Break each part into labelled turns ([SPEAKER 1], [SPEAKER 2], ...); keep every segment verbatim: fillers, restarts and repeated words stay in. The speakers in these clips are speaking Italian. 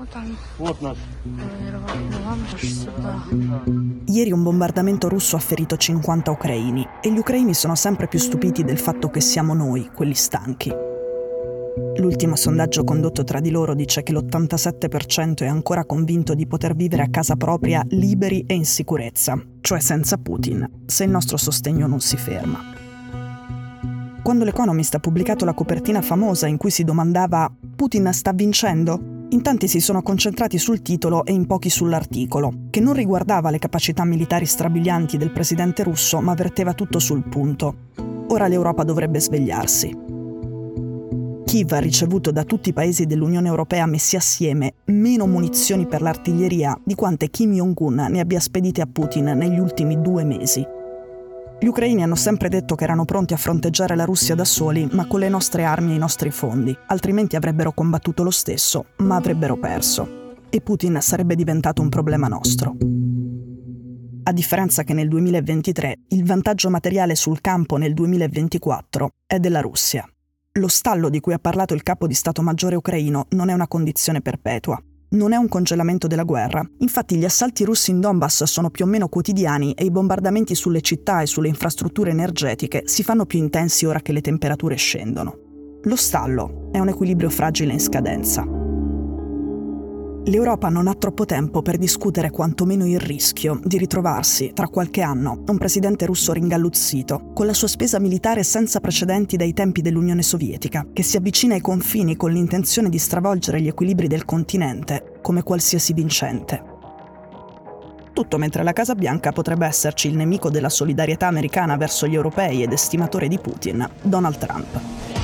[SPEAKER 1] Ieri un bombardamento russo ha ferito cinquanta ucraini e gli ucraini sono sempre più stupiti del fatto che siamo noi, quelli stanchi. L'ultimo sondaggio condotto tra di loro dice che l'ottantasette per cento è ancora convinto di poter vivere a casa propria liberi e in sicurezza, cioè senza Putin, se il nostro sostegno non si ferma. Quando l'Economist ha pubblicato la copertina famosa in cui si domandava «Putin sta vincendo?», in tanti si sono concentrati sul titolo e in pochi sull'articolo, che non riguardava le capacità militari strabilianti del presidente russo, ma verteva tutto sul punto. Ora l'Europa dovrebbe svegliarsi. Kiev ha ricevuto da tutti i paesi dell'Unione Europea messi assieme meno munizioni per l'artiglieria di quante Kim Jong-un ne abbia spedite a Putin negli ultimi due mesi. Gli ucraini hanno sempre detto che erano pronti a fronteggiare la Russia da soli, ma con le nostre armi e i nostri fondi, altrimenti avrebbero combattuto lo stesso, ma avrebbero perso. E Putin sarebbe diventato un problema nostro. A differenza che nel duemilaventitré, il vantaggio materiale sul campo nel duemilaventiquattro è della Russia. Lo stallo di cui ha parlato il capo di Stato Maggiore ucraino non è una condizione perpetua. Non è un congelamento della guerra. Infatti gli assalti russi in Donbass sono più o meno quotidiani e i bombardamenti sulle città e sulle infrastrutture energetiche si fanno più intensi ora che le temperature scendono. Lo stallo è un equilibrio fragile in scadenza. L'Europa non ha troppo tempo per discutere quantomeno il rischio di ritrovarsi, tra qualche anno, un presidente russo ringalluzzito, con la sua spesa militare senza precedenti dai tempi dell'Unione Sovietica, che si avvicina ai confini con l'intenzione di stravolgere gli equilibri del continente, come qualsiasi vincente. Tutto mentre alla Casa Bianca potrebbe esserci il nemico della solidarietà americana verso gli europei ed estimatore di Putin, Donald Trump.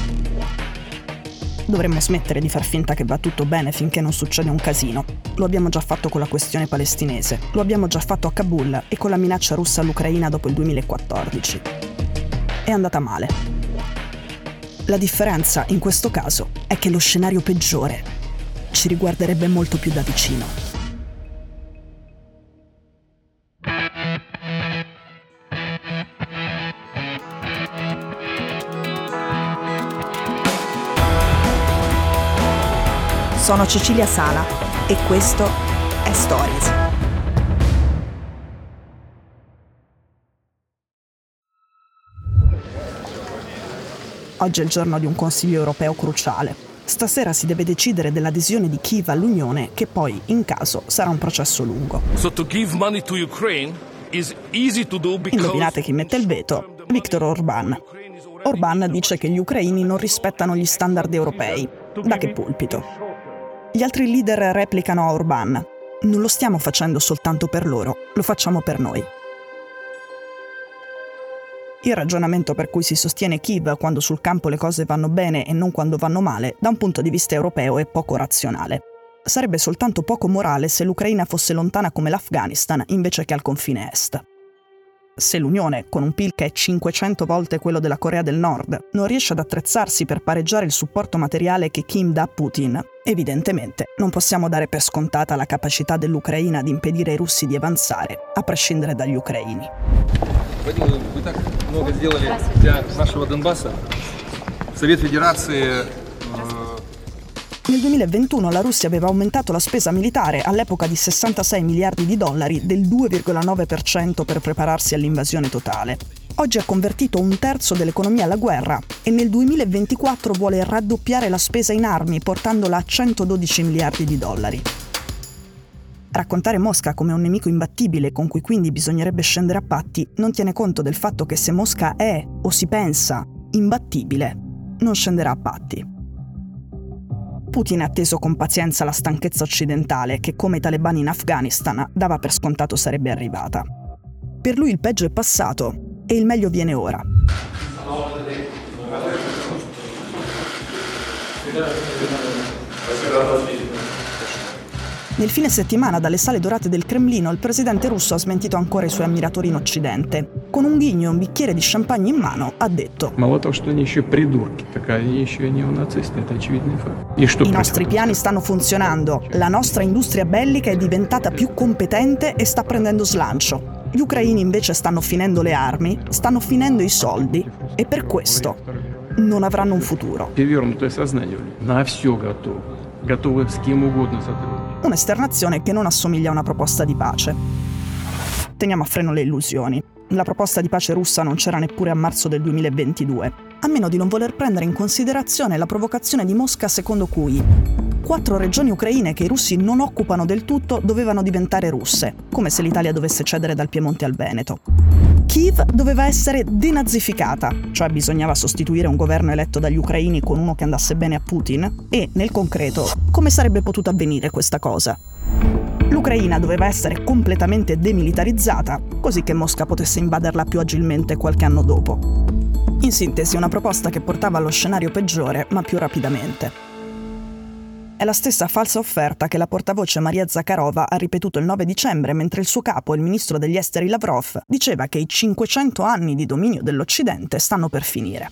[SPEAKER 1] Dovremmo smettere di far finta che va tutto bene finché non succede un casino. Lo abbiamo già fatto con la questione palestinese, lo abbiamo già fatto a Kabul e con la minaccia russa all'Ucraina dopo il duemilaquattordici. È andata male. La differenza, in questo caso, è che lo scenario peggiore ci riguarderebbe molto più da vicino. Sono Cecilia Sala e questo è Stories. Oggi è il giorno di un Consiglio europeo cruciale. Stasera si deve decidere dell'adesione di Kiev all'Unione, che poi, in caso, sarà un processo lungo.
[SPEAKER 2] So to give money to Ukraine is easy to do because...
[SPEAKER 1] Indovinate chi mette il veto? Viktor Orbán. Orbán dice che gli ucraini non rispettano gli standard europei. Da che pulpito? Gli altri leader replicano a Orbán. Non lo stiamo facendo soltanto per loro, lo facciamo per noi. Il ragionamento per cui si sostiene Kiev quando sul campo le cose vanno bene e non quando vanno male, da un punto di vista europeo è poco razionale. Sarebbe soltanto poco morale se l'Ucraina fosse lontana come l'Afghanistan invece che al confine est. Se l'Unione, con un P I L che è cinquecento volte quello della Corea del Nord, non riesce ad attrezzarsi per pareggiare il supporto materiale che Kim dà a Putin, evidentemente non possiamo dare per scontata la capacità dell'Ucraina di impedire ai russi di avanzare, a prescindere dagli ucraini.
[SPEAKER 3] Вы так много сделали для нашего Донбасса. Совет Федерации.
[SPEAKER 1] Nel duemilaventuno la Russia aveva aumentato la spesa militare all'epoca di sessantasei miliardi di dollari del due virgola nove per cento per prepararsi all'invasione totale. Oggi ha convertito un terzo dell'economia alla guerra e nel duemilaventiquattro vuole raddoppiare la spesa in armi portandola a centododici miliardi di dollari. Raccontare Mosca come un nemico imbattibile con cui quindi bisognerebbe scendere a patti non tiene conto del fatto che se Mosca è, o si pensa, imbattibile, non scenderà a patti. Putin ha atteso con pazienza la stanchezza occidentale che, come i talebani in Afghanistan, dava per scontato sarebbe arrivata. Per lui il peggio è passato e il meglio viene ora. Nel fine settimana, dalle sale dorate del Cremlino, il presidente russo ha smentito ancora i suoi ammiratori in Occidente. Con un ghigno e un bicchiere di champagne in mano, ha detto:
[SPEAKER 4] I
[SPEAKER 1] nostri piani stanno funzionando, la nostra industria bellica è diventata più competente e sta prendendo slancio. Gli ucraini invece stanno finendo le armi, stanno finendo i soldi e per questo non avranno un futuro.
[SPEAKER 3] готовы с кем угодно сотрудничать.
[SPEAKER 1] Un'esternazione che non assomiglia a una proposta di pace. Teniamo a freno le illusioni. La proposta di pace russa non c'era neppure a marzo del duemilaventidue, a meno di non voler prendere in considerazione la provocazione di Mosca secondo cui quattro regioni ucraine che i russi non occupano del tutto dovevano diventare russe, come se l'Italia dovesse cedere dal Piemonte al Veneto. Kiev doveva essere denazificata, cioè bisognava sostituire un governo eletto dagli ucraini con uno che andasse bene a Putin, e, nel concreto, come sarebbe potuta avvenire questa cosa? L'Ucraina doveva essere completamente demilitarizzata, così che Mosca potesse invaderla più agilmente qualche anno dopo. In sintesi, una proposta che portava allo scenario peggiore, ma più rapidamente. È la stessa falsa offerta che la portavoce Maria Zakharova ha ripetuto il nove dicembre, mentre il suo capo, il ministro degli esteri Lavrov, diceva che i cinquecento anni di dominio dell'Occidente stanno per finire.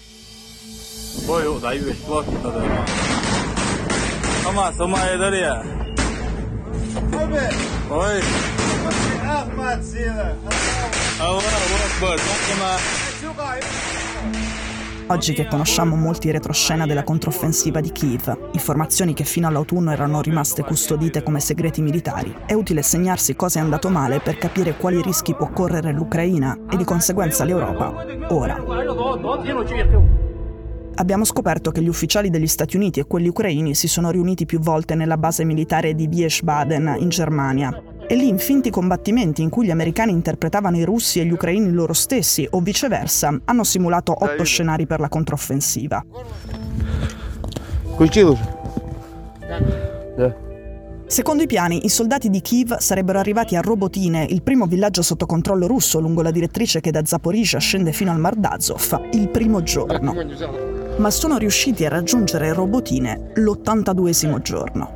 [SPEAKER 1] Oggi che conosciamo molti retroscena della controffensiva di Kiev, informazioni che fino all'autunno erano rimaste custodite come segreti militari, è utile segnarsi cosa è andato male per capire quali rischi può correre l'Ucraina e di conseguenza l'Europa, ora. Abbiamo scoperto che gli ufficiali degli Stati Uniti e quelli ucraini si sono riuniti più volte nella base militare di Wiesbaden, in Germania, e lì in finti combattimenti in cui gli americani interpretavano i russi e gli ucraini loro stessi, o viceversa, hanno simulato otto scenari per la controffensiva. Secondo i piani, i soldati di Kiev sarebbero arrivati a Robotine, il primo villaggio sotto controllo russo lungo la direttrice che da Zaporizhzhia scende fino al Mar d'Azov, il primo giorno. Ma sono riusciti a raggiungere Robotine l'ottantaduesimo giorno.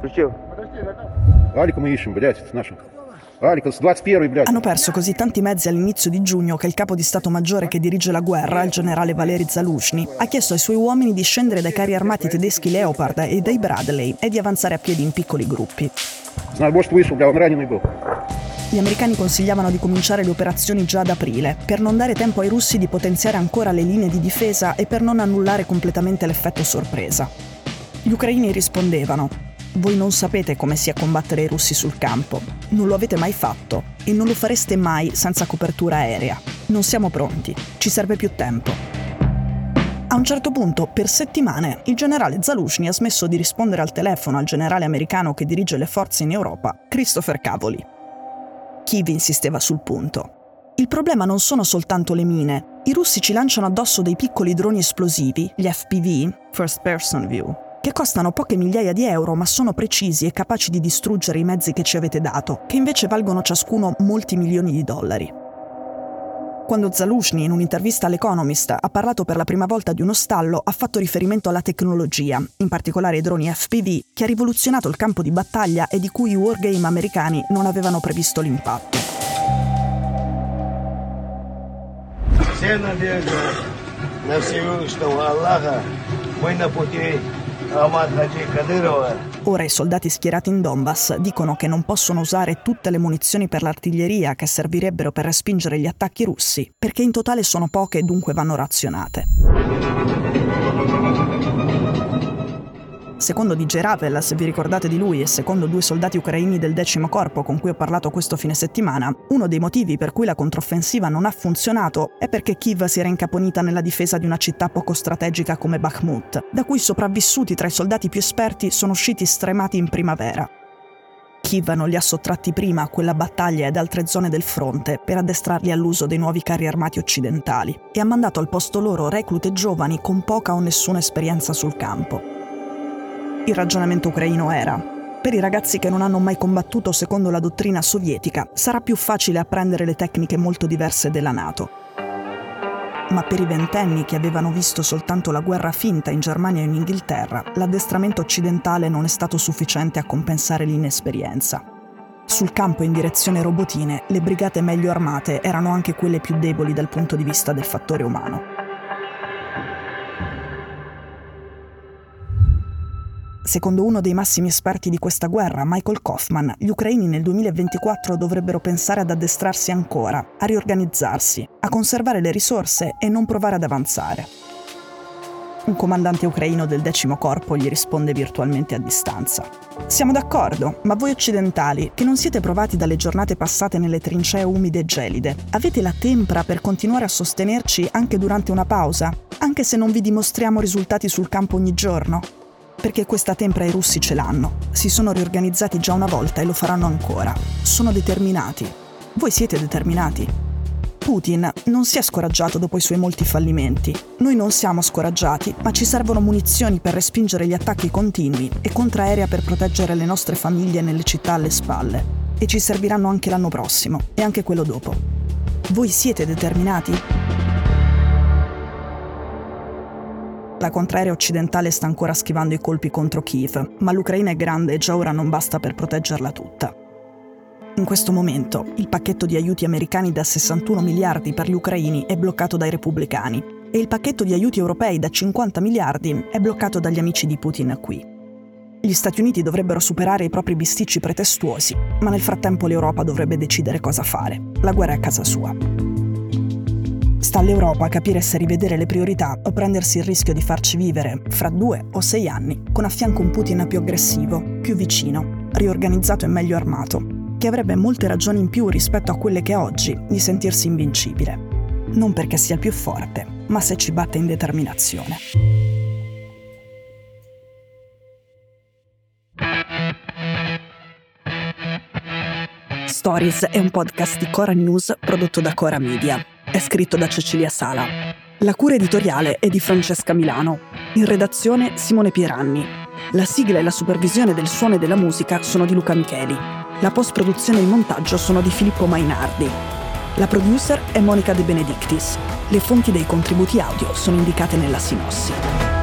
[SPEAKER 1] Hanno perso così tanti mezzi all'inizio di giugno che il capo di Stato Maggiore che dirige la guerra, il generale Valery Zaluzhny, ha chiesto ai suoi uomini di scendere dai carri armati tedeschi Leopard e dai Bradley e di avanzare a piedi in piccoli gruppi. Gli americani consigliavano di cominciare le operazioni già ad aprile, per non dare tempo ai russi di potenziare ancora le linee di difesa e per non annullare completamente l'effetto sorpresa. Gli ucraini rispondevano: voi non sapete come sia combattere i russi sul campo, non lo avete mai fatto e non lo fareste mai senza copertura aerea. Non siamo pronti, ci serve più tempo. A un certo punto, per settimane, il generale Zaluzhny ha smesso di rispondere al telefono al generale americano che dirige le forze in Europa, Christopher Cavoli. Kiev insisteva sul punto. Il problema non sono soltanto le mine. I russi ci lanciano addosso dei piccoli droni esplosivi, gli F P V, First Person View, che costano poche migliaia di euro ma sono precisi e capaci di distruggere i mezzi che ci avete dato, che invece valgono ciascuno molti milioni di dollari. Quando Zaluzhny, in un'intervista all'Economist, ha parlato per la prima volta di uno stallo, ha fatto riferimento alla tecnologia, in particolare ai droni F P V, che ha rivoluzionato il campo di battaglia e di cui i wargame americani non avevano previsto l'impatto. Ora i soldati schierati in Donbass dicono che non possono usare tutte le munizioni per l'artiglieria che servirebbero per respingere gli attacchi russi, perché in totale sono poche e dunque vanno razionate. Secondo D J Ravel, se vi ricordate di lui, e secondo due soldati ucraini del decimo corpo con cui ho parlato questo fine settimana, uno dei motivi per cui la controffensiva non ha funzionato è perché Kiev si era incaponita nella difesa di una città poco strategica come Bakhmut, da cui i sopravvissuti tra i soldati più esperti sono usciti stremati in primavera. Kiev non li ha sottratti prima a quella battaglia e ad altre zone del fronte per addestrarli all'uso dei nuovi carri armati occidentali e ha mandato al posto loro reclute giovani con poca o nessuna esperienza sul campo. Il ragionamento ucraino era: per i ragazzi che non hanno mai combattuto secondo la dottrina sovietica, sarà più facile apprendere le tecniche molto diverse della NATO. Ma per i ventenni che avevano visto soltanto la guerra finta in Germania e in Inghilterra, l'addestramento occidentale non è stato sufficiente a compensare l'inesperienza. Sul campo in direzione Robotine, le brigate meglio armate erano anche quelle più deboli dal punto di vista del fattore umano. Secondo uno dei massimi esperti di questa guerra, Michael Kaufman, gli ucraini nel duemilaventiquattro dovrebbero pensare ad addestrarsi ancora, a riorganizzarsi, a conservare le risorse e non provare ad avanzare. Un comandante ucraino del decimo corpo gli risponde virtualmente a distanza. Siamo d'accordo, ma voi occidentali, che non siete provati dalle giornate passate nelle trincee umide e gelide, avete la tempra per continuare a sostenerci anche durante una pausa, anche se non vi dimostriamo risultati sul campo ogni giorno? Perché questa tempra i russi ce l'hanno. Si sono riorganizzati già una volta e lo faranno ancora. Sono determinati. Voi siete determinati. Putin non si è scoraggiato dopo i suoi molti fallimenti. Noi non siamo scoraggiati, ma ci servono munizioni per respingere gli attacchi continui e contraerea per proteggere le nostre famiglie nelle città alle spalle. E ci serviranno anche l'anno prossimo, e anche quello dopo. Voi siete determinati? La contraerea occidentale sta ancora schivando i colpi contro Kiev, ma l'Ucraina è grande e già ora non basta per proteggerla tutta. In questo momento, il pacchetto di aiuti americani da sessantuno miliardi per gli ucraini è bloccato dai repubblicani e il pacchetto di aiuti europei da cinquanta miliardi è bloccato dagli amici di Putin qui. Gli Stati Uniti dovrebbero superare i propri bisticci pretestuosi, ma nel frattempo l'Europa dovrebbe decidere cosa fare. La guerra è a casa sua. Sta all'Europa capire se rivedere le priorità o prendersi il rischio di farci vivere, fra due o sei anni, con a fianco un Putin più aggressivo, più vicino, riorganizzato e meglio armato, che avrebbe molte ragioni in più rispetto a quelle che ha oggi di sentirsi invincibile. Non perché sia il più forte, ma se ci batte in determinazione. Stories è un podcast di Cora News prodotto da Cora Media. È scritto da Cecilia Sala. La cura editoriale è di Francesca Milano. In redazione Simone Pieranni. La sigla e la supervisione del suono e della musica sono di Luca Micheli. La post-produzione e il montaggio sono di Filippo Mainardi. La producer è Monica De Benedictis. Le fonti dei contributi audio sono indicate nella sinossi.